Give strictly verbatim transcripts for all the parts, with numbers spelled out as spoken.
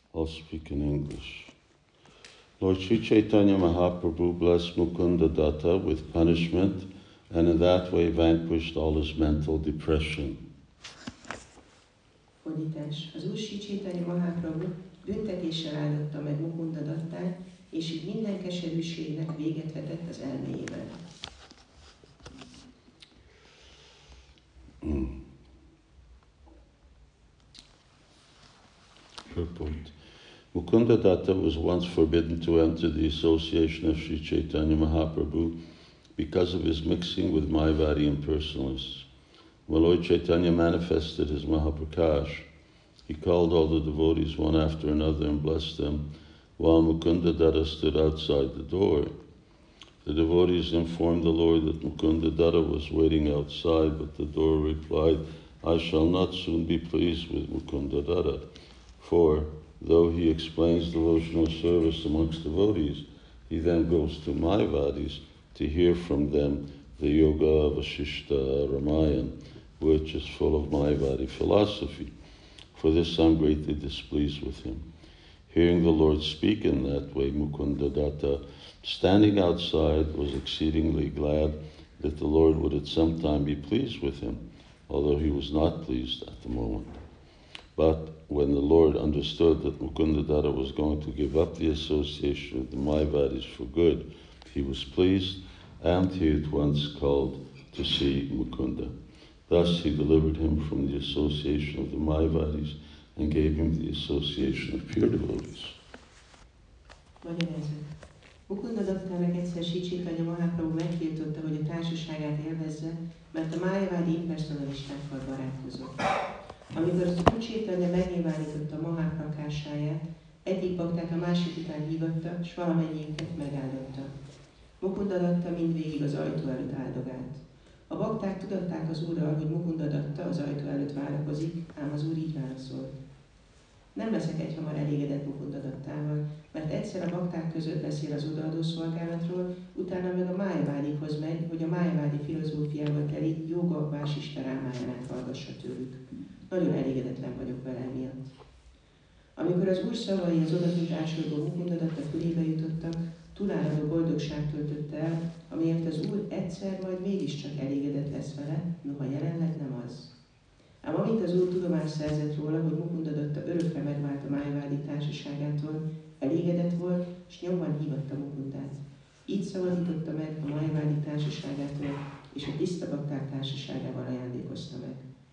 I'll speak in English. Lord Sri Chaitanya Mahaprabhu blessed Mukunda Datta with punishment and in that way vanquished all his mental depression. Fordítás. Az Úr Sri Chaitanya Mahaprabhu büntetéssel áldotta meg Mukunda Dattát, és így minden keserűségnek véget vetett az elméjében. Mm. Purport. Mukunda Datta was once forbidden to enter the association of Sri Chaitanya Mahaprabhu because of his mixing with Mayavadi impersonalists. When Lord Chaitanya manifested his Mahaprakash, he called all the devotees one after another and blessed them, while Mukunda Datta stood outside the door. The devotees informed the Lord that Mukunda Datta was waiting outside, but the door replied, I shall not soon be pleased with Mukunda Datta, for though he explains devotional service amongst devotees, he then goes to Mayavadis to hear from them the Yoga Vasishta Ramayana, which is full of Mayavadi philosophy. For this I'm greatly displeased with him. Hearing the Lord speak in that way, Mukunda Datta, standing outside, was exceedingly glad that the Lord would at some time be pleased with him, although he was not pleased at the moment. But when the Lord understood that Mukunda Datta was going to give up the association with the Mayavadis for good, he was pleased, and he at once called to see Mukunda. Thus he delivered him from the association of the Mayavadis and gave him the association of pure devotees. Magyarázat. Mukunda Dattának egyszer Sri Chaitanya Mahaprabhu megtiltotta, hogy a társaságát élvezze, mert a Mayavadi impersonalistákkal barátkozott. Amikor az Úr Chaitanya megnyilvánította Mahaprakásáját, egyik baktát a másik után hívatta, s valamennyiünket megáldotta. Mukunda Datta mindvégig az ajtó előtt áldogált. A bakták tudatták az Úrral, hogy Mukunda Datta az ajtó előtt várakozik, ám az Úr így válaszolt. Nem leszek egyhamar elégedett Mukunda Dattával, mert egyszer a bakták között beszél az odaadó szolgálatról, utána meg a Mayavádikhoz megy, hogy a Mayavadi filozófiával teli Yoga Vasishta Ramayánát hallgassa tőlük. Nagyon elégedetlen vagyok vele emiatt. Amikor az Úr szavai az odakint ásorgó Mukunda Datta fülébe jutottak, túláradó boldogság töltötte el, amiért az Úr egyszer majd mégiscsak elégedett lesz vele, noha jelenleg nem az. Ám amint az Úr tudomást szerzett róla, hogy Mukunda Datta örökre megvált a Mayavadi társaságától, elégedett volt, és nyomban hívatta Mukundát. Így szabadította meg a Mayavadi társaságától, és a tiszta bakták társaságával ajándékozta meg.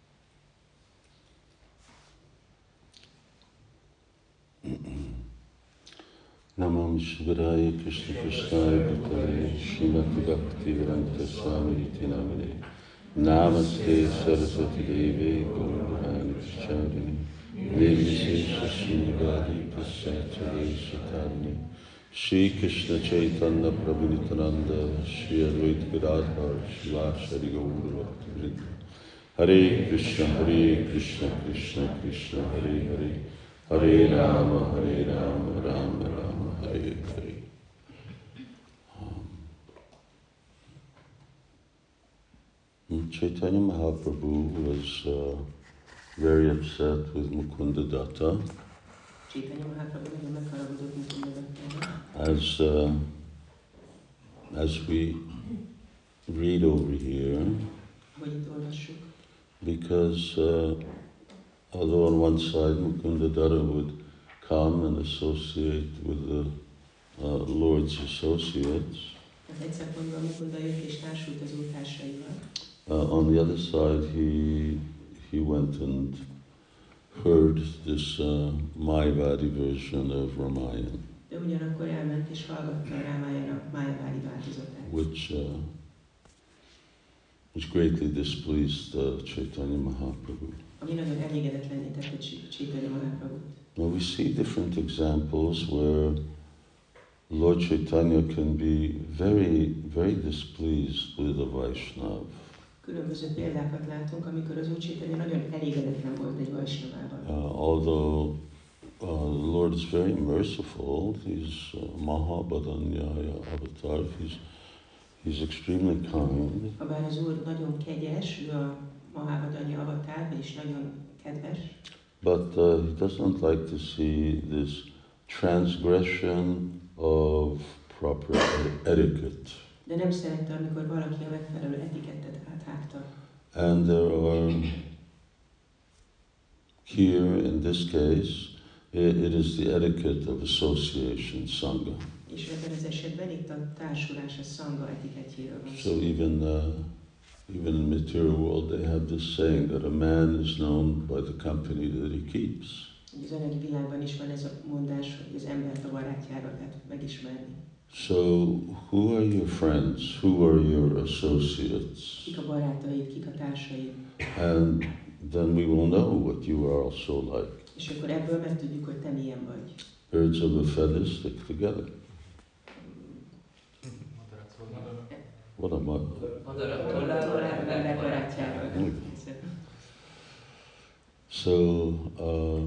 Namam Shivaya Krishna Krishnaya Bhutale Srimati Bhakti Vedanta Swami Iti Namane Namaste Saraswati Devi Gauravani Pracharini Devi Sesha Srinivadi Prasachari Satarni Shri Krishna Chaitanya Prabhu Nityananda Shri Advaita Gadadhar Shivashari Gaura Bhakti Hare Krishna Hare Krishna Krishna Krishna Hare Hare Hare Rama Hare Rama Rama Rama Hare Hare. Um, Chaitanya Mahaprabhu was uh, very upset with Mukunda Datta. As, uh, as we read over here, because uh, although on one side Mukunda Datta would come and associate with the uh, Lord's associates, uh, on the other side he he went and heard this uh, Mayavadi version of Ramayana, which uh, which greatly displeased uh, Chaitanya Mahaprabhu. Now we see different examples where Lord Chaitanya can be very, very displeased with a Vaishnava. Különböző példákat látunk, amikor az Úr Chaitanya nagyon elégedetlen volt egy Vaishnavával. Uh, although uh, the Lord is very merciful, he's uh, Mahabadanyaya avatar, he's, he's extremely kind. Habár az Úr nagyon kegyes, ő a Mahabadanya avatar, és nagyon kedves. but uh, he doesn't like to see this transgression of proper etiquette. De nem szerette, amikor valaki a megfelelő etikettet áthágta. And there are, here in this case, it, it is the etiquette of association, sangha. És ebben az esetben itt a társulás, a szanga etiketjéről van So szó. even uh, even in the material world, they have this saying that a man is known by the company that he keeps. Az anyagi világban is van ez a mondás, hogy az embert a barátjára lehet megismerni. So who are your friends? Who are your associates? Kik a barátaid, kik a társaid. And then we will know what you are also like. És akkor ebből megtudjuk, hogy te milyen vagy. Birds of a feather stick together. What am I? So, uh,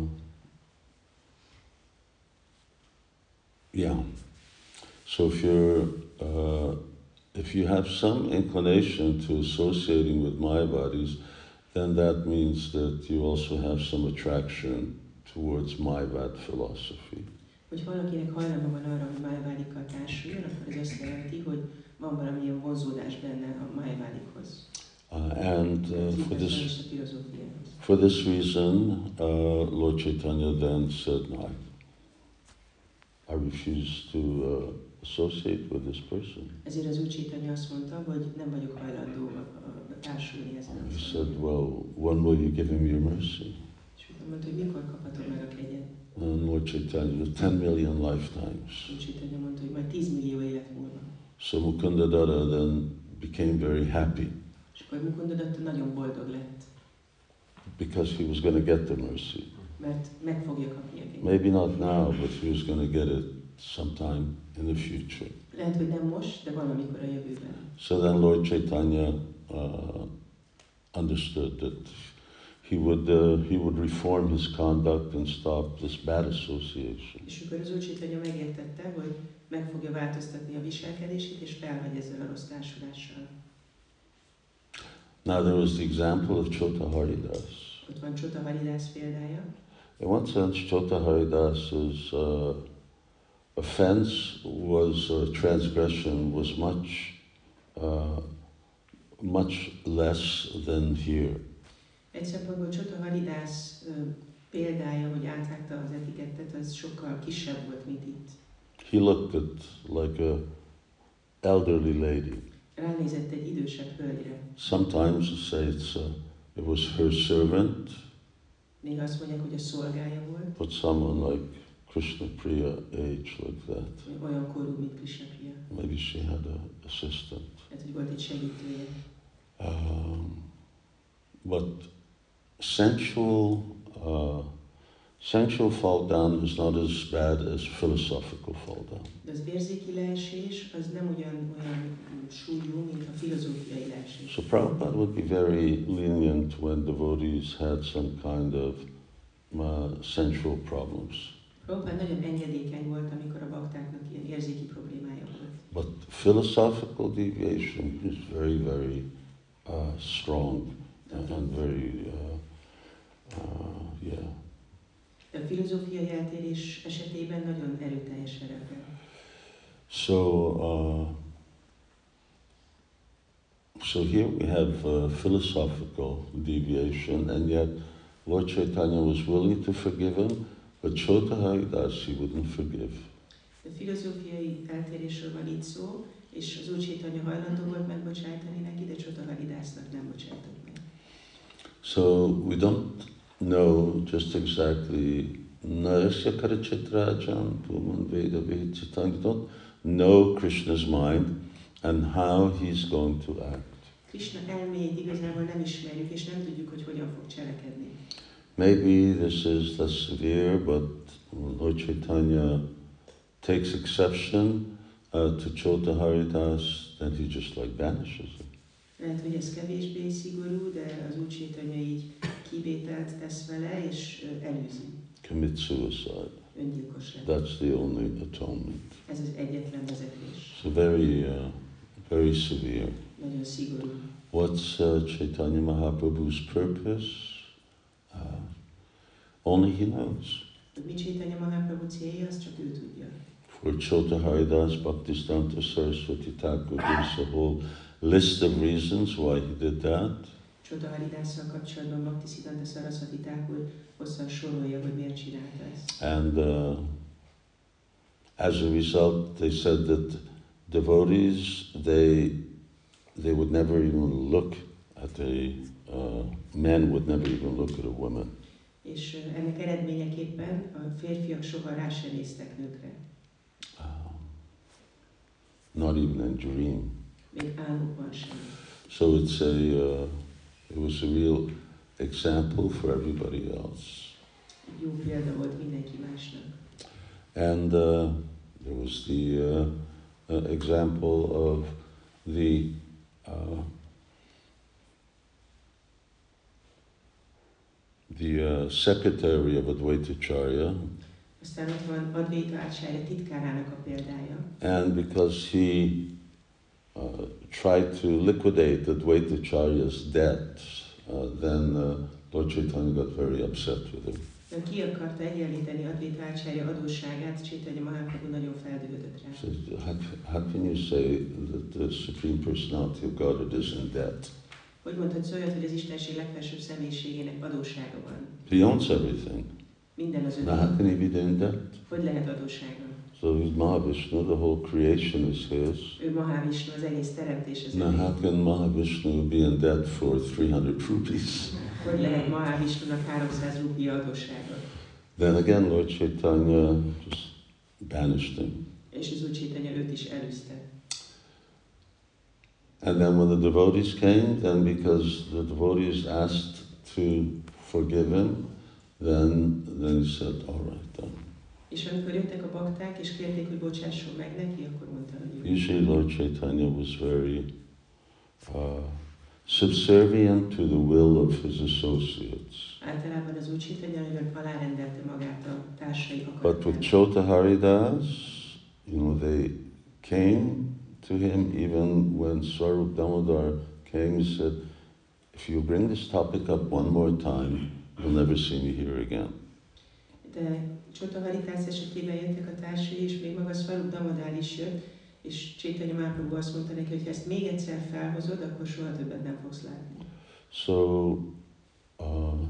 yeah. So if you're, uh, if you have some inclination to associating with Mayavadis, then that means that you also have some attraction towards Mayavad philosophy. Hogy valakinek hajlama van arra, hogy Mayavadikkal társuljon, akkor ez azt jelenti, hogy van valamilyen vonzódás benne a Mayavadikhoz. Uh, and uh, for this for this reason, uh, Lord Chaitanya then said, "No, I, I refuse to uh, associate with this person." Ezért az Úr Chaitanya azt mondta, hogy nem vagyok hajlandó a, a társulni ezzel. Uh, he said, "Well, when will you give him your mercy?" És mondta, hogy mikor kaphatom meg a kegyet? And Lord Chaitanya, ten million lifetimes. Úr Chaitanya mondta, hogy majd tíz millió élet múlva. So Mukunda Datta then became very happy. És akkor Mukunda Datta nagyon boldog lett. Because he was going to get the mercy. Mert meg fogja kapni a kegyet. Maybe not now, but he was going to get it sometime in the future. Lehet, hogy nem most, de valamikor a jövőben. So then Lord Chaitanya uh, understood that he would uh, he would reform his conduct and stop this bad association. És akkor az Úr Chaitanya megértette, hogy meg fogja változtatni a viselkedését, és felhagy ezzel a rossz társulással. Now there was the example of Chota Haridas. Ott van Chota Haridas példája. In one sense, Chota Haridas's uh, offense was, uh, transgression was much, uh, much less than here. Egy szempontból Chota Haridas uh, példája, hogy áthágta az etikettet, az sokkal kisebb volt, mint itt. He looked at like a elderly lady. Ránézett egy idősebb hölgyre. Sometimes say it's uh, it was her servant. Néha azt mondják, hogy a szolgája volt. But someone like Krishna Priya age like that. Olyan korú, mint Krishna Priya. Maybe she had an assistant. Hát, hogy volt egy segítője. Um, but sensual, uh, sensual fall down is not as bad as philosophical fall down. De az érzéki leesés az nem ugyan olyan súlyú, mint a filozófiai leesés. So Prabhupada would be very lenient when devotees had some kind of uh, sensual problems. Prabhupada nagyon engedékeny volt, amikor a baktáknak ilyen érzéki problémája volt. But philosophical deviation is very, very uh, strong and, and very, uh, uh, yeah. A filozófiai eltérés esetében nagyon erőteljes szerepel. So, uh, so here we have uh, philosophical deviation, and yet Lord Chaitanya was willing to forgive him, but Chota Haridas he wouldn't forgive. A filozófiai eltérésről van itt szó, és az Úr Chaitanya hajlandó volt megbocsájtani neki, de Chota Haridasnak nem bocsájtott meg. So we don't know just exactly Narasya Karachitrajan, Puman Veda Vechitang. You don't know Krishna's mind and how he's going to act. Krishna elméjét igazából nem ismerjük, és nem tudjuk, hogy hogyan fog cselekedni. Maybe this is less severe, but Lord Chaitanya takes exception uh, to Chota Haridas, then he just like banishes him. Lehet, hogy ez kevésbé szigorú, de az Úr Chaitanya így kivételt tesz vele, és elűzi. Commit suicide. Öngyilkos lett. That's the only atonement. Ez az egyetlen vezetés. So very, uh, very severe. Nagyon szigorú. What's uh, Chaitanya Mahaprabhu's purpose? Uh, Only he knows. Hogy mi Chaitanya Mahaprabhu célja, azt csak ő tudja. For Chota Haridas Bhaktisiddhanta Saraswati Thakur gives a whole list of reasons why he did that. Chota Haridásszal kapcsolatban Bhaktisiddhanta Saraswati Thakur hosszan sorolja, hogy miért csinálta ezt. And uh, as a result, they said that devotees, they they would never even look at a uh, men would never even look at a woman. És uh, ennek eredményeképpen a férfiak soha rá sem néztek nőkre. Um, not even in dream. Még álmukban sem. So it's a uh, it was a real example for everybody else. Jó példa volt mindenki másnak. And uh, there was the uh, uh, example of the uh, the uh, secretary of Advaitacharya. Aztán ott van Advaita Acharya titkárának a példája. And because he uh, tried to liquidate Advaitacharya's debt, uh, then uh, Lord Chaitanya got very upset with him. De ki akarta egyenlíteni Advaita Acharya adósságát, Chaitanya Mahaprabhu nagyon feldühödött rá. So how, how can you say that the Supreme Personality of Godhead is in debt? Hogy mondhatsz olyat, hogy az Istenség legfelsőbb személyiségének adóssága van? He owns everything. Minden az Now how övé. can he be in debt? Hogy lehet adóssága? So he's Mahavishnu, the whole creation is his. Ő Mahavishnu, az egész teremtés az Now how övé. can Mahavishnu be in debt for three hundred rupees? Hogy lehet Mahavishnunak háromszáz rupia adóssága? Then again, Lord Chaitanya just banished him. És az Úr Chaitanya őt is elűzte. And then when the devotees came, then because the devotees asked to forgive him, then then he said, all right then. És amikor jöttek a bakták, és kérték, hogy bocsásson meg neki, akkor mondta, hogy jó. Usually Lord Chaitanya was very uh, subservient to the will of his associates. Általában az Úr Chaitanya nagyon alárendelte magát a társai But with akaratának. Chota Haridas, you know, they came to him even when Swarup Damodar came, he said, if you bring this topic up one more time, you'll never see me here again. De Chota Haridász esetében jöttek a társai, és még maga Swarup Damodar is jött, és Chaitanya Mahaprabhu azt mondta neki, hogy ha ezt még egyszer felhozod, akkor soha többet nem fogsz látni. So, uh,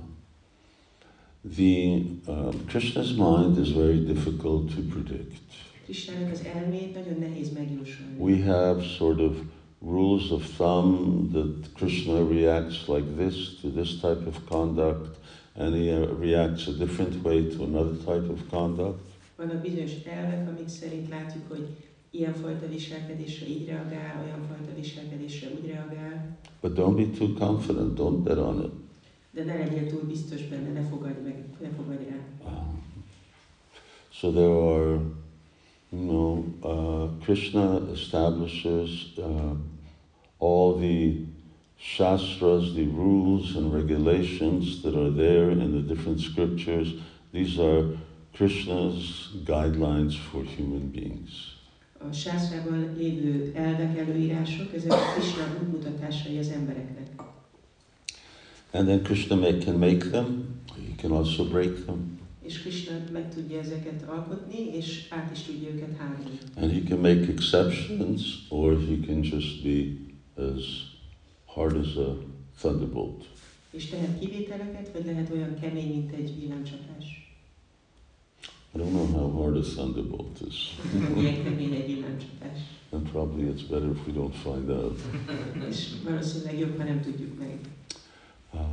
the uh, Krishna's mind is very difficult to predict. Krisnának az elmét nagyon nehéz megjósolni. We have sort of rules of thumb that Krishna reacts like this to this type of conduct, and he uh, reacts a different way to another type of conduct. Vannak bizonyos elvek, amik szerint látjuk, hogy ilyenfajta viselkedésre így reagál, olyanfajta viselkedésre úgy reagál. But don't be too confident, don't bet on it. De ne legyél túl biztos benne, ne fogadj meg, ne fogadj rá. Um, so there are, you know, uh, Krishna establishes uh, all the shastras, the rules and regulations that are there in the different scriptures. These are Krishna's guidelines for human beings. A sászrában lévő elvek, előírások, ezek a Krishna útmutatásai az embereknek. And then Krishna may, can make them, he can also break them. És Krishna meg tudja ezeket alkotni, és át is tudja őket hágni. And he can make exceptions, or he can just be as hard as a thunderbolt. És tehet kivételeket, vagy lehet olyan kemény, mint egy villámcsapás. I don't know how hard a thunderbolt is. Milyen kemény egy villámcsapás. And probably it's better if we don't find out. És valószínűleg jobb, ha nem tudjuk meg. Um,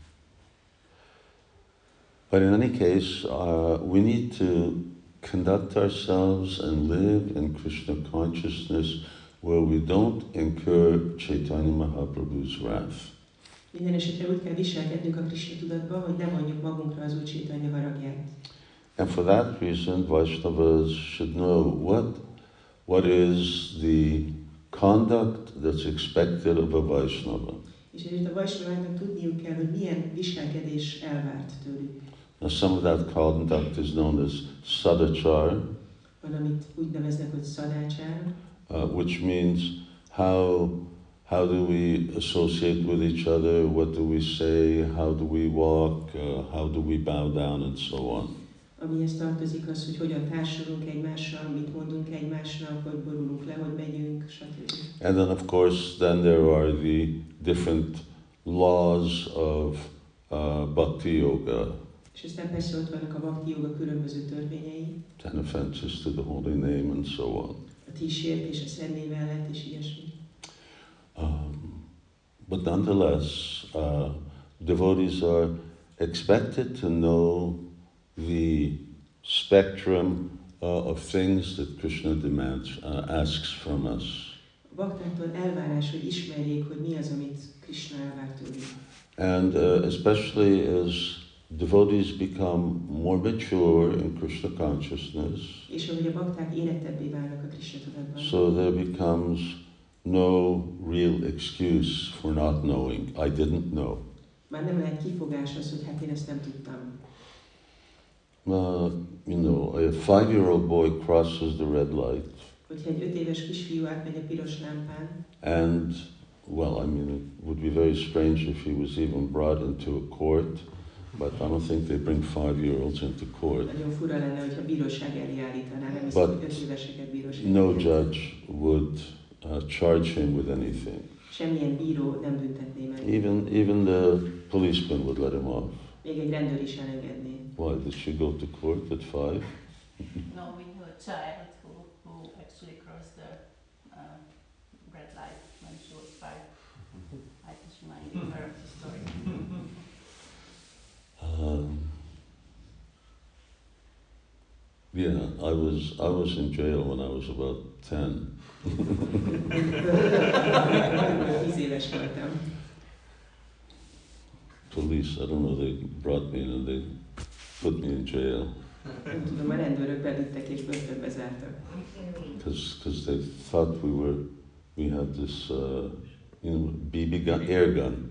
but in any case, uh, we need to conduct ourselves and live in Krishna consciousness where we don't incur Chaitanya Mahaprabhu's wrath. Minden esetre úgy kell viselkednünk a Krishna tudatban, hogy ne vonjuk magunkra az Úr Chaitanya haragját. And for that reason, Vaishnavas should know what, what is the conduct that's expected of a Vaishnava. És ezért a Vaisnaváknak tudniuk kell, hogy milyen viselkedés elvárt tőlük. Now, some of that conduct is known as sadachar, Van, amit úgy neveznek, hogy szadácsár, uh, which means how how do we associate with each other, what do we say, how do we walk, uh, how do we bow down, and so on. Amihez tartozik az, hogy hogyan társulunk egymással, mit mondunk egymásnak, hogy borulunk le, hogy megyünk, stb. And then of course, then there are the different laws of uh, bhakti yoga. És aztán persze ott vannak a bhakti yoga különböző törvényei. Ten offenses to the holy name and so on. A tíz sértés a szent név ellen és ilyesmi. Um, but nonetheless, uh, devotees are expected to know the spectrum uh, of things that Krishna demands, uh, asks from us. A baktáktól elvárás, hogy ismerjék, hogy mi az, amit Krishna elvár tőlük. And uh, especially as devotees become more mature in Krishna consciousness, És ahogy a bakták érettebbé válnak a Krishna tudatban, so there becomes no real excuse for not knowing. I didn't know. már nem lehet kifogás az, hogy hát én ezt nem tudtam. Uh, you know, a five-year-old boy crosses the red light, Hogyha egy öt éves kisfiú átmegy a piros lámpán, and, well, I mean, it would be very strange if he was even brought into a court, but I don't think they bring five-year-olds into court. nagyon fura lenne, hogyha bíróság elé állítaná, nem hiszem, But hogy öt éveseket bíróság. no judge would uh, charge him with anything. Semmilyen bíró nem büntetné meg. Even, even the policeman would let him off. Még egy rendőr is elengedné. Why, did she go to court at five? No, we knew a child who, who actually crossed the uh, red light when she was five. I just reminded her of the story. Um, yeah, I was I was in jail when I was about ten. Tíz éves voltam. Police, I don't know, they brought me in and they put me in jail Nem tudom, a rendőrök bevittek és börtönbe zártak. because they thought we were we had this uh, you know B B gun, air gun.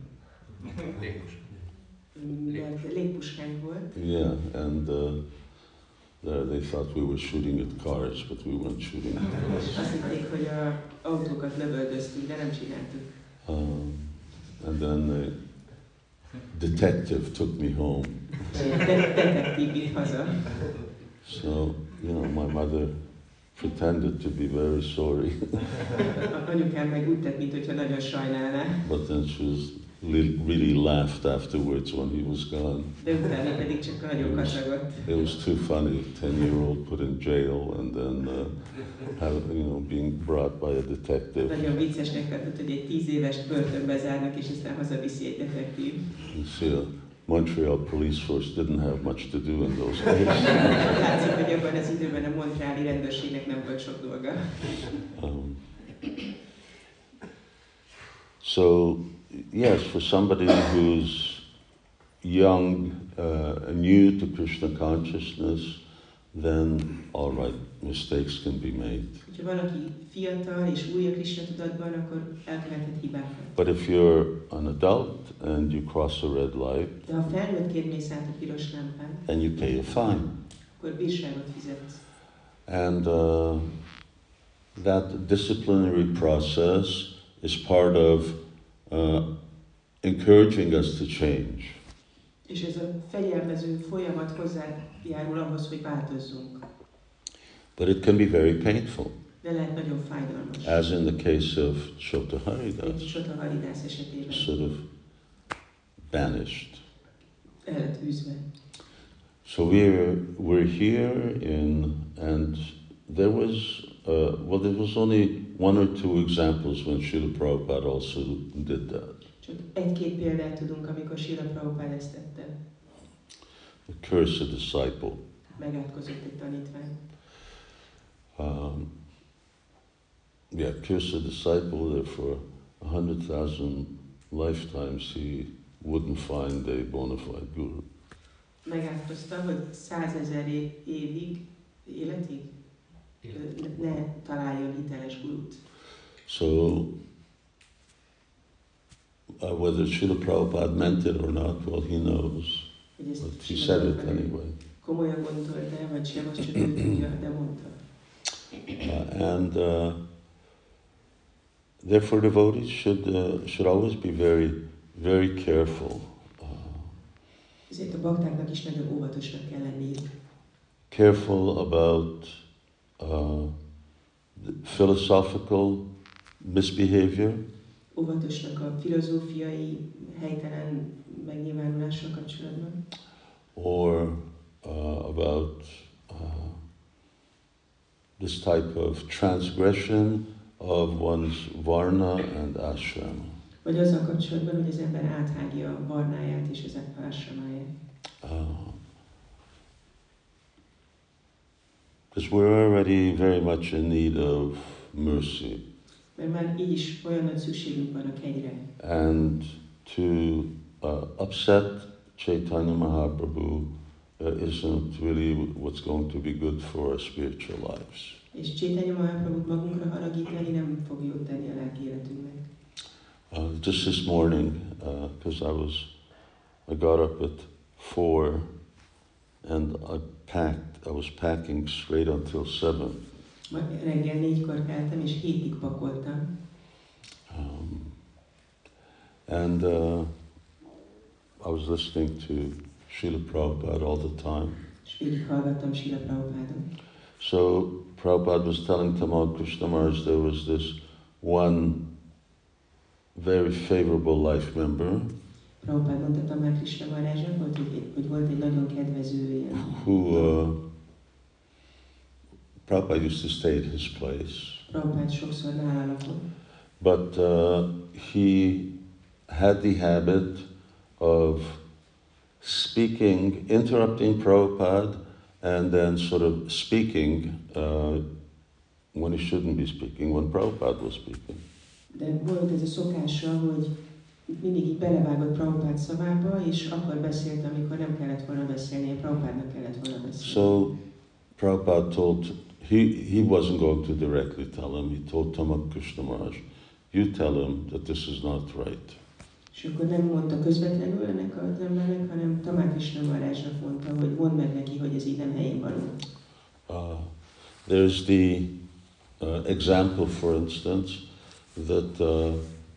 Mert légpuskánk volt, Yeah, and uh, there they thought we were shooting at cars, but we weren't shooting at cars. és azt hitték, hogy a autókat lövöldöztük, de nem csináltuk. Um, and then the detective took me home. De- Detektív vitt haza. So, you know, my mother pretended to be very sorry, A anyukám meg úgy tett, mintha nagyon sajnálná, but then she was li- really laughed afterwards when he was gone. de utána pedig csak nagyon kacagott. It was too funny, ten-year-old put in jail and then uh, have, you know, being brought by a detective. Nagyon viccesnek tartott, hogy egy tíz évest börtönbe zárnak, és aztán hazaviszi egy detektív. You see, uh, Montreal police force didn't have much to do in those days. Látszik, hogy abban az időben a montreali rendőrségnek nem volt sok dolga. Um, so, yes, for somebody who's young, uh, new to Krishna consciousness, then all right, mistakes can be made. Ha valaki fiatal és új a Krishna tudatban, akkor elkövethet hibákat. But if you're an adult and you cross a red light, De ha felnőttként mész át a piros lámpán, then you pay a fine. akkor bírságot fizetsz. And uh, that disciplinary process is part of uh, encouraging us to change. És ez a fegyelmező folyamat hozzájárul ahhoz, hogy változzunk. But it can be very painful, De lehet nagyon fájdalmas. as in the case of Chota Egy Haridas, Sota Haridász esetében sort of banished. el lett űzve. So we're we're here in, and there was uh, well, there was only one or two examples when Srila Prabhupada also did that. Csak egy-két példát tudunk, amikor Srila Prabhupád ezt tette. The curse a disciple. Megátkozott egy tanítvány. Um, yeah, curse a disciple that for a hundred thousand lifetimes he wouldn't find a bona fide guru. Megátkozta, hogy százezer é- évig, életig ne, ne találjon hiteles gurút. So, uh, whether Srila Prabhupada meant it or not, well, he knows. Hogy ezt But he Srila said it Prabhupád anyway. komolyan gondolta, vagy sem, azt csak ő tudja, de mondta. Uh, and uh, therefore devotees should, uh, should always be very, very careful. Uh, Ezért a baktáknak is nagyon óvatosnak kell lenniük. careful about uh, the philosophical misbehavior, Óvatosnak a filozófiai helytelen megnyilvánulással kapcsolatban, or uh, about uh, this type of transgression of one's varna and ashrama. vagy azzal kapcsolatban, hogy az ember áthágja a varnáját és az áshramáját. Because uh, we're already very much in need of mercy. Mert már így is olyan nagy szükségünk van a kegyre. And to uh, upset Chaitanya Mahaprabhu uh, isn't really what's going to be good for our spiritual lives. És Chaitanya Mahaprabhut magunkra haragítani nem fog jót tenni a lelki életünknek. Uh, just this morning, because uh, I was, I got up at four, and I packed. I was packing straight until seven. Ma reggel négykor keltem, és hétig pakoltam. Um, and uh, I was listening to Srila Prabhupada all the time. És végig hallgattam Srila Prabhupádon. So Prabhupada was telling Tamal Krishna Maharaj there was this one very favorable life member Prabhupád mondta Tamal Krishna Maharajnak, hogy, hogy volt egy nagyon kedvező ilyen. who uh, Prabhupada used to stay at his place. Prabhupád sokszor nála lakott. But uh, he had the habit of speaking, interrupting Prabhupada, and then sort of speaking uh, when he shouldn't be speaking, when Prabhupada was speaking. De volt ez a szokása, hogy mindig így belevágott Prabhupád szavába, és akkor beszélt, amikor nem kellett volna beszélnie, Prabhupádnak kellett volna beszélni. So Prabhupada told, he, he wasn't going to directly tell him, he told Tamal Krishna Maharaj, you tell him that this is not right. És akkor nem mondta közvetlenül ennek az embernek, hanem Tamal Krishna Maharajnak mondta, hogy mondd meg neki, hogy ez így nem helyén való. Uh, there's the uh, example, for instance, that uh,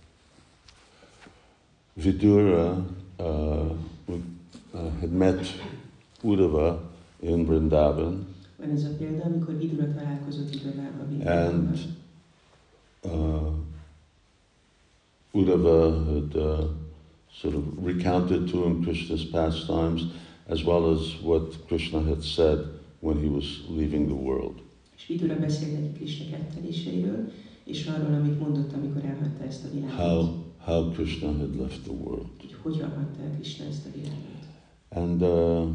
Vidura uh, uh, had met Uddhava in Vrindavan, Van ez a példa, amikor Vidura találkozott Uddhavával. and uh, Uddhava had uh, sort of recounted to him Krishna's pastimes, as well as what Krishna had said when he was leaving the world. És Vidura beszélt neki Krishna ketteléseiről, és arról, amit mondott, amikor elhagyta ezt a világot. How, how Krishna had left the world. Hogy hogyan hagyta el Krishna ezt a világot. And uh,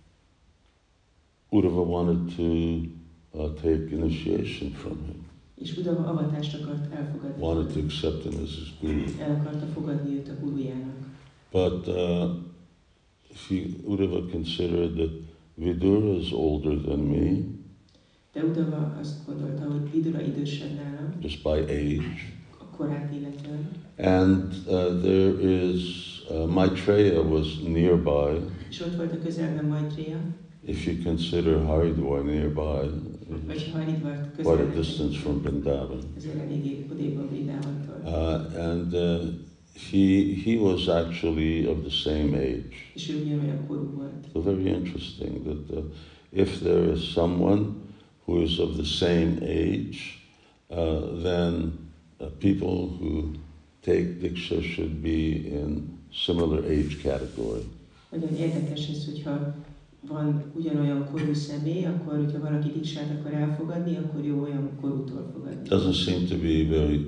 Uddhava wanted to uh, take initiation from him, És Uddhava avatást akart elfogadni. wanted to accept him as his guru. El akarta fogadni őt a gurujának. But uh, he, Uddhava considered that Vidura is older than me, De Uddhava azt gondolta, hogy Vidura idősebb nálam, just by age. a korát illetően. And uh, there is, uh, Maitreya was nearby. És ott volt a közelben Maitreya, If you consider Haridwar nearby, vagy it's Haridwar quite a közelben. distance from Vrindavan. Ezért eléggé odébb a Vrindávantól. Uh, and uh, he, he was actually of the same age. És ő ugyanolyan korú volt. So very interesting that uh, if there is someone who is of the same age, uh, then uh, people who take Diksha should be in similar age category. Nagyon érdekes ez, hogyha van ugyanolyan korú személy, akkor, hogyha valaki diksát akar elfogadni, akkor jó olyan korútól fogadni. Doesn't seem to be very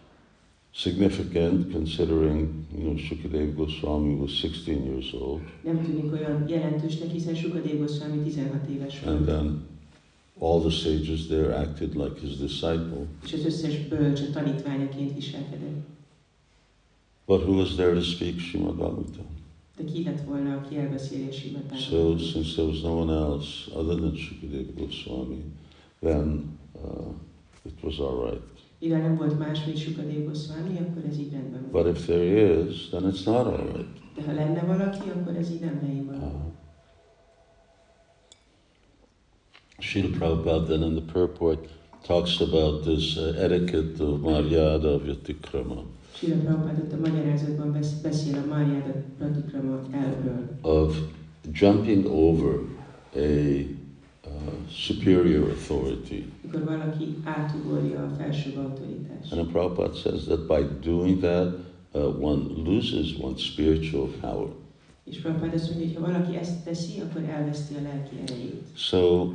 significant considering, you know, Shukadev Goswami was sixteen years old. Nem tűnik olyan jelentősnek, hiszen Sukadeva Goswami tizenhat éves volt. And then all the sages there acted like his disciple. És az összes bölcs a tanítványaként viselkedett. But who was there to speak Srimad Bhagavatam? De ki lett volna, aki elbeszéli a Srimad So Bhagavatamot? since there was no one else other than Shukadev Goswami, then uh, it was all right. Mivel nem volt más, mint Sukadeva Goswami, akkor ez így rendben But volt. if there is, then it's not all right. De ha lenne valaki, akkor ez így nem helyén van. Uh, Srila Prabhupada then in the purport talks about this uh, etiquette of Maryada Vyatikrama, Srila Prabhupád ott a magyarázatban besz- beszél a Márjáda Pratikrama elvről, of jumping over a uh, superior authority. mikor valaki átugorja a felsőbb autoritást. And Prabhupada says that by doing that, uh, one loses one's spiritual power. És Prabhupád azt mondja, hogy ha valaki ezt teszi, akkor elveszti a lelki erejét. So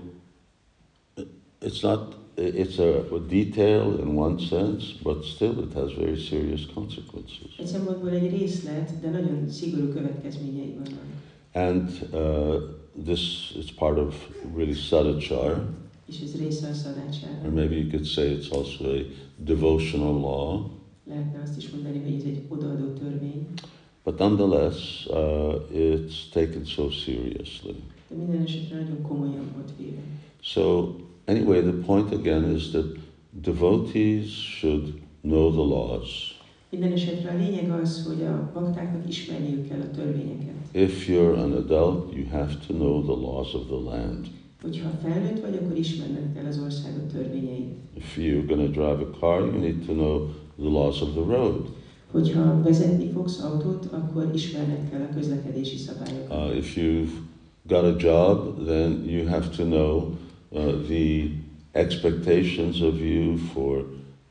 it's not, it's a, a detail in one sense, but still it has very serious consequences. Egy szempontból egy részlet, de nagyon szigorú következményei vannak. And uh, this is part of really sadachar, És ez része a or szadácsára. maybe you could say it's also a devotional law. Lehetne azt is mondani, hogy ez egy odaadó törvény, But nonetheless, uh, it's taken so seriously. de minden esetre nagyon komolyan volt véve. So anyway, the point again is that devotees should know the laws. Minden esetre a lényeg az, hogy a baktáknak ismerniük kell a törvényeket. If you're an adult, you have to know the laws of the land. Hogyha felnőtt vagy, akkor ismerned kell az országot törvényeit. If you're going to drive a car, you need to know the laws of the road. Hogyha vezetni fogsz autót, akkor ismerned kell a közlekedési szabályokat. Uh, if you've got a job, then you have to know uh, the expectations of you for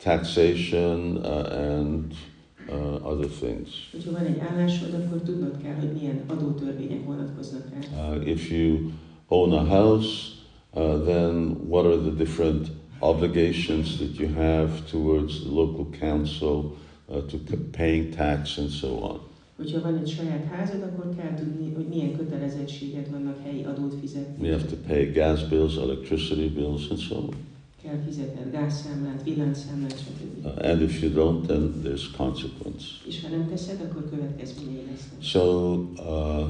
taxation uh, and uh, other things. Hogyha van egy állásod, akkor tudnod kell, hogy milyen adótörvények vonatkoznak rá. Uh, if you own a house, uh, then what are the different obligations that you have towards the local council, uh, to p- paying tax and so on. Hogyha van egy saját házad, akkor kell tudni, hogy milyen kötelezettséged vannak helyi adót fizetni. You have to pay gas bills, electricity bills, and so on. Kell fizetned gázszámlát, villanyszámlát, stb. Uh, and if you don't, then there's consequence. És ha nem teszed, akkor következményei lesznek. So uh,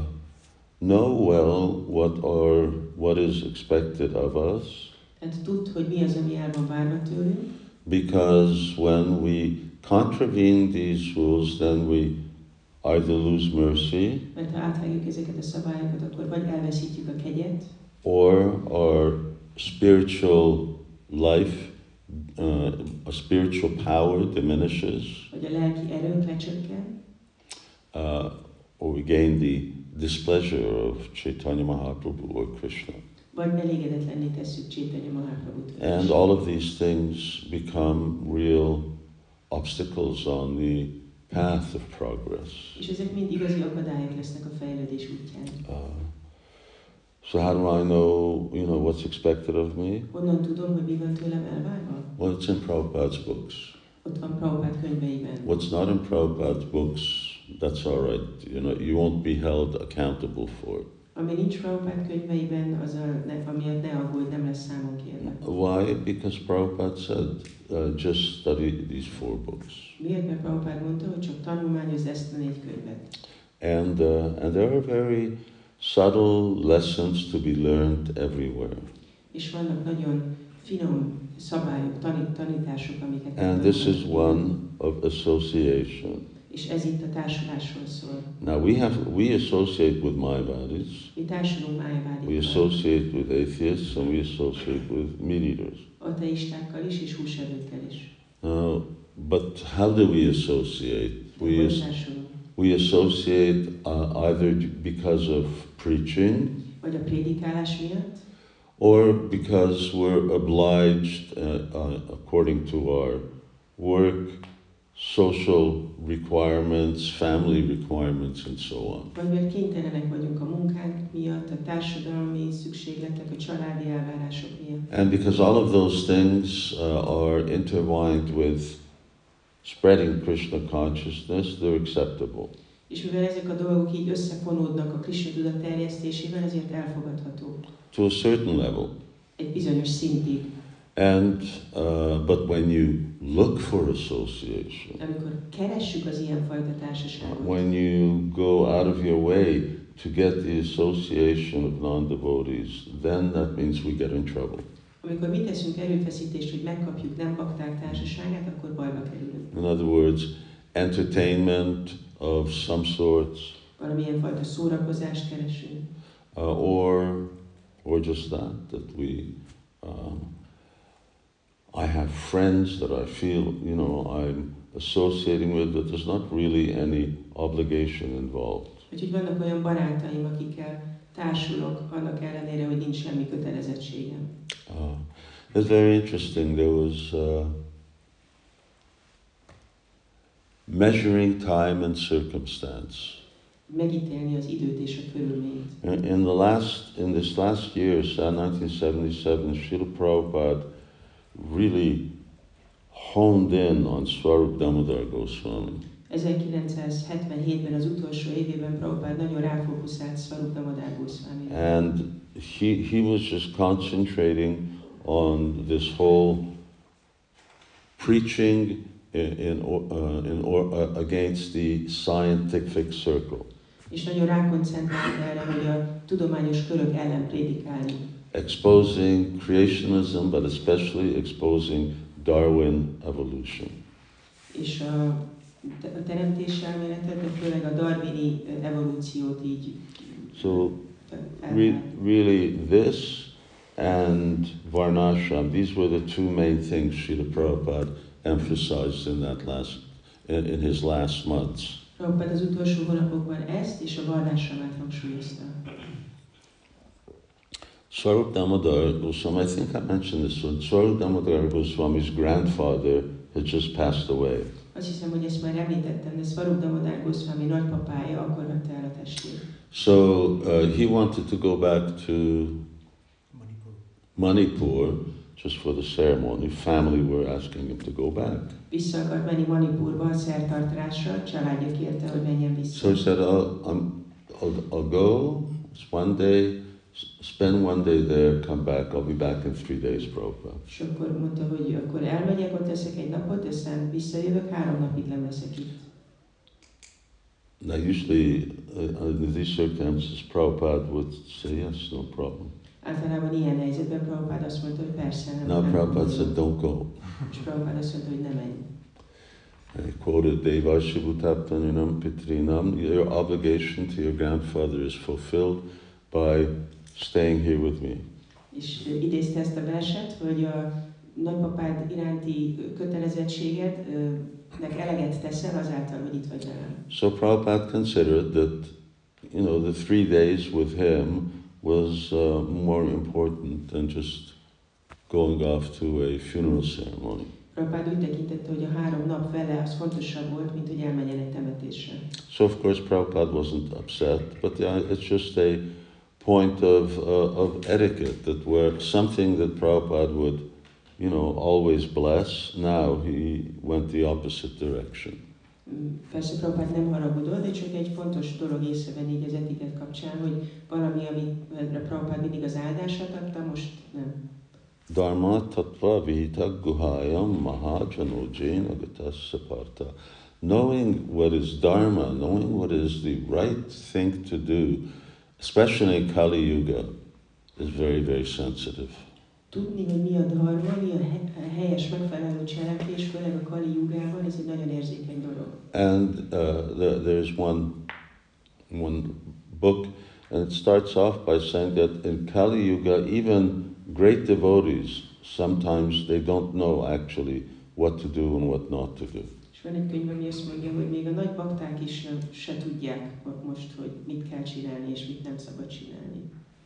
know well what are what is expected of us, Tehát tudd, hogy mi az, ami el van várva tőlünk, because when we contravene these rules, then we either lose mercy mert ha átvágjuk ezeket a szabályokat, akkor vagy elveszítjük a kegyet, or our spiritual life, uh, a spiritual power diminishes, vagy a lelki erőnk lecsökken, uh, or we gain the displeasure of Chaitanya Mahaprabhu or Krishna. vagy elégedetlenné tesszük Chaitanya Mahaprabhut. And all of these things become real obstacles on the path of progress. És ezek mind igazi akadályok lesznek a fejlődés útján. Uh, so how do I know, you know, what's expected of me? Honnan tudom, hogy mi van tőlem elvárva? Well, it's in Prabhupada's books. Ott van Prabhupád könyveiben. What's not in Prabhupada's books, that's all right. You know, you won't be held accountable for. Ami nincs Prabhupád könyveiben, az a, ne, amiatt ne aggódj, nem lesz számon kérve. Why? Because Prabhupada said, uh, just study these four books. Miért? Mert Prabhupád mondta, hogy csak tanulmányozd ezt a négy könyvet. And, uh, and there are very subtle lessons to be learned everywhere. És vannak nagyon finom szabályok, tanít, tanítások, amiket And this is one of association. És ez itt a társulásról szól. Now we have, we associate with Mayavadis, Mi társulunk we májvádikkal, associate with atheists, and we associate with meat eaters. ateistákkal is, és húsevőkkel is. Uh, but how do we associate? We, Hogy as, társulunk? we associate uh, either because of preaching, Vagy a prédikálás miatt, or because we're obliged, uh, uh, according to our work, social requirements, family requirements, and so on. vagy mert kénytelenek vagyunk a munkánk miatt, a társadalmi szükségletek, a családi elvárások miatt. And because all of those things uh, are intertwined with spreading Krishna consciousness, they're acceptable. És mivel ezek a dolgok így összefonódnak a Krishna tudat terjesztésével, ezért elfogadható. To a certain level. Egy bizonyos szintig. And, uh, but when you look for association, Amikor keressük az ilyenfajta társaságot, when you go out of your way to get the association of non-devotees, then that means we get in trouble. amikor mi teszünk erőfeszítést, hogy megkapjuk nem bakták társaságát, akkor bajba kerülünk. In other words, entertainment of some sorts, Valamilyen fajta szórakozást keresünk, uh, or, or just that, that we, um, I friends that I feel, you know, I'm associating with, but there's not really any obligation involved. Úgyhogy vannak olyan barátaim, akikkel társulok, annak ellenére, hogy nincs semmi kötelezettségem. Uh, it's very interesting. There was uh, measuring time and circumstance. Megítélni az időt és a körülményt. In, in the last, in this last year, nineteen seventy-seven, Srila Prabhupada really honed in on Swarup Damodar Goswami. ezerkilencszázhetvenhétben az utolsó évében Prabhupád nagyon ráfókuszált Swarup Damodar Goswamira. And he, he was just concentrating on this whole preaching in, in, uh, in or, uh, against the scientific circle. És nagyon rákoncentrált erre, hogy a tudományos körök ellen prédikálni. Exposing creationism, but especially exposing Darwin evolution. És a, a teremtés elméletet, de főleg a darwini evolúciót így. So re, really this and Varnashram, these were the two main things Srila Prabhupada emphasized in that last, in, in his last months. Prabhupád az utolsó hónapokban ezt és a Varnashramát hangsúlyozta. Swarup Damodar Goswami, I think I mentioned this one, Swarup Damodar Goswami's grandfather had just passed away. Azt hiszem, hogy ezt már említettem, de Swarup Damodar Goswami nagypapája akkor vette el a testét. So uh, he wanted to go back to Manipur. Manipur just for the ceremony. Family were asking him to go back. Vissza akart menni Manipurba a szertartásra, családja kérte, hogy menjen vissza. So he said, I'll, I'm, I'll, I'll go, it's one day, spend one day there, come back, I'll be back in three days, Prabhupada. És akkor mondta, hogy akkor elmegyek, ott leszek egy napot, aztán visszajövök, három napig nem leszek itt. Now usually, uh, under these circumstances, Prabhupada would say, yes, no problem. Általában ilyen helyzetben Prabhupád azt mondta, hogy persze nem. Now nem Prabhupada tudom. said, don't go. És Prabhupád azt mondta, hogy ne menj. And he quoted Devasya Bhutaptanyanam Pitrinam, your obligation to your grandfather is fulfilled by staying here with me. És idézte ezt a verset, hogy a nagypapád iránti kötelezettségednek eleget teszel azáltal, hogy itt vagy velem. So Prabhupada considered that, you know, the three days with him was uh, more important than just going off to a funeral ceremony. Prabhupád úgy tekintette, hogy a három nap vele az fontosabb volt, mint hogy elmenjen egy temetésre. So of course Prabhupada wasn't upset, but yeah, it's just a point of, uh, of etiquette, that were something that Prabhupada would, you know, always bless. Now he went the opposite direction. Persze Prabhupád nem haragudott, de csak egy fontos dolog észrevenni így az etiket kapcsán, hogy valami, amire Prabhupád mindig az áldását adta, most nem. Dharma tattva vita guhayam mahajanojén agatasya parta. Knowing what is dharma, knowing what is the right thing to do, especially in Kali Yuga, is very, very sensitive. Tudni, hogy mi a dharma, mi a helyes, megfelelő cselekvés, főleg a Kali Jugában, ez egy nagyon érzékeny dolog. And uh, there, there's one, one book, and it starts off by saying that in Kali Yuga, even great devotees, sometimes they don't know actually what to do and what not to do. És van egy könyv, ami azt mondja, hogy még a nagy bakták is se, se tudják most, hogy mit kell csinálni és mit nem szabad csinálni.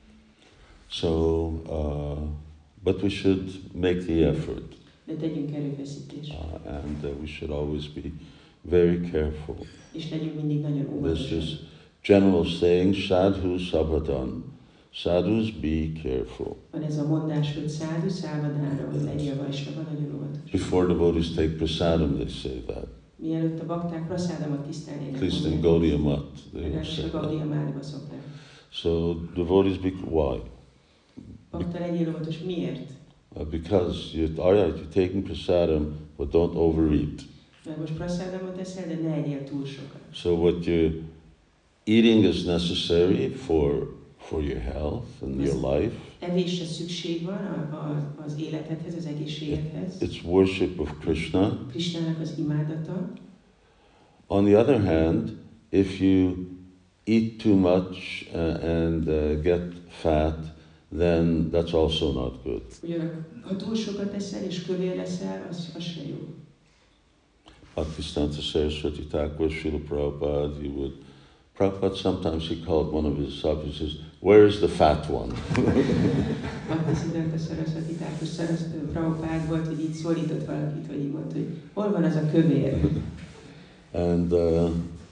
So, uh, but we should make the effort, De tegyünk erőfeszítést. uh, and uh, we should always be very careful. És legyünk mindig nagyon This óvatosak. is general saying, sadhu sabhadan. Sadhus, be careful. Van ez a mondás, hogy szádu, szávadára, hogy legyél vajsnava, nagyon óvatos. Before devotees take prasadam, they say that. Mielőtt a bakták praszádamat At tisztelnének, least in Gaudiya Mat, they legalábbis say a Gaudiya that. Mátba szokták. So devotees, be why? Bakta legyél óvatos, miért? Uh, because you, all right, you're taking prasadam, but don't overeat. Mert most praszádamot eszel, de ne egyél túl sokat. So what you're eating is necessary for for your health and your life. Evésre szükség van a, a, az életedhez, az egészségedhez. It's worship of Krishna. Krishnának az imádata. On the other hand, if you eat too much uh, and uh, get fat, then that's also not good. Ugyanakkor, ha túl sokat eszel és kövér leszel, az, az se jó. Bhaktisiddhanta Saraswati Thakur, Srila Prabhupada, he would, Prabhupada sometimes he called one of his disciples, he says, where is the fat one? Bhaktisiddhanta Saraswati Thakur Prabhupád volt, hogy így szólított valakit, hogy így mondta, hogy hol van az a kövér? And uh,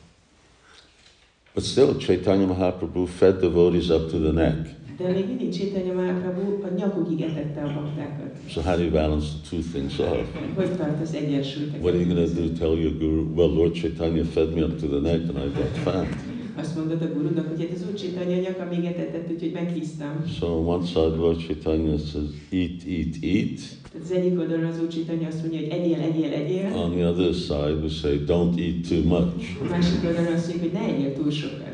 but still, Chaitanya Mahaprabhu fed devotees up to the neck. De még mindig Chaitanya Mahaprabhu a nyakukig etette a baktákat. So how do you balance the two things off? Hogy tartasz egyensúlyt? What are you going to do? Tell your guru, well, Lord Chaitanya fed me up to the neck and I got fat. Azt mondod a gurunak, hogy hát az Úr Chaitanya nyaka még etetett, úgyhogy meghíztam. So on one side, Lord Chaitanya says, eat, eat, eat. Tehát az egyik oldalon az Úr Chaitanya azt mondja, hogy egyél, egyél, egyél. On the other side, we say, don't eat too much. A másik oldalon azt mondja, hogy ne egyél túl sokat.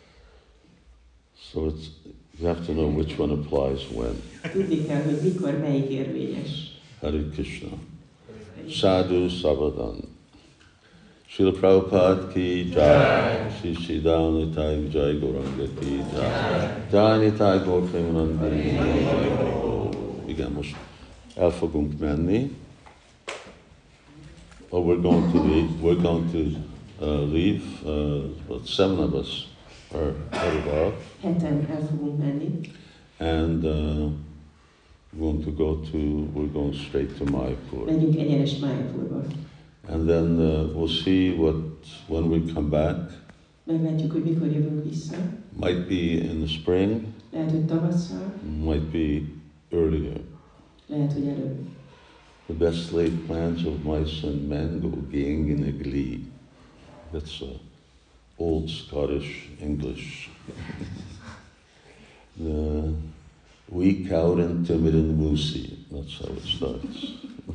So it's, you have to know which one applies when. Tudni kell, hogy mikor melyik érvényes. Hare Krishna. Sadhu Savadan. Srila Prabhupada ki jai. Sri Siddhar Nitai Jai Gauranga ki jai. Jai Nitai Gaur Premanandi. Igen, most el fogunk menni. Oh, we're going to leave. We're going to uh, leave. Uh, about seven of us are headed off. Heten el fogunk menni. And uh, we're going to go to, we're going straight to Mayapur. Megyünk egyenes Mayapurba. And then uh, we'll see what, when we come back. Meglátjuk, hogy mikor jövünk vissza. Might be in the spring, Lehet, hogy tavasszal, might be earlier. lehet, hogy előbb. The best laid plans of mice and men go gang in a glee. That's uh, old Scottish English. The weak out and timid and moosey. That's how it starts.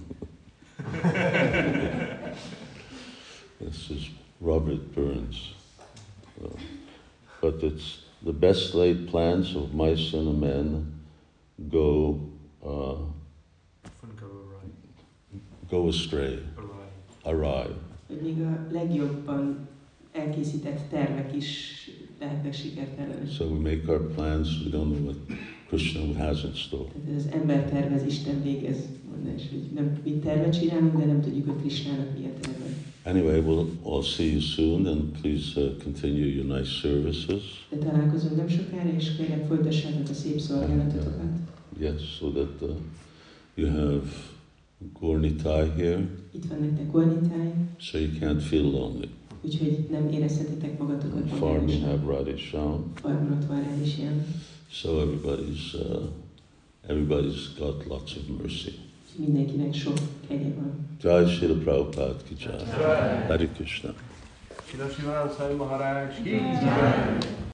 This is Robert Burns. Uh, but it's the best laid plans of mice and men go uh, Often go awry. go astray, Awry. awry. Hogy még a legjobban elkészített tervek is lehetnek sikertelenek. So we make our plans, we don't know what Krishna has in store. Tehát ez az ember tervez, Isten végez mondás, hogy nem mi tervet csinálunk, de nem tudjuk, hogy Krishnának mi a terve. Anyway, we'll all see you soon, and please uh, continue your nice services. De találkozunk nem sokára, és kérlek folytassátok a szép szolgálatotokat. Yes, so that uh, you have Gornitai here, Itt van nektek Gornitáj, so you can't feel lonely. úgyhogy nem érezhetitek magatokat On farm you magányosan. have Radhe Shyam, Farmon ott van Radhishyam, so everybody's uh, everybody's got lots of mercy. mindenkinek sok kegye van. Jai Srila Prabhupada ki jai. Hare Krishna. Shri Shivanand Swami Maharaj ki jai.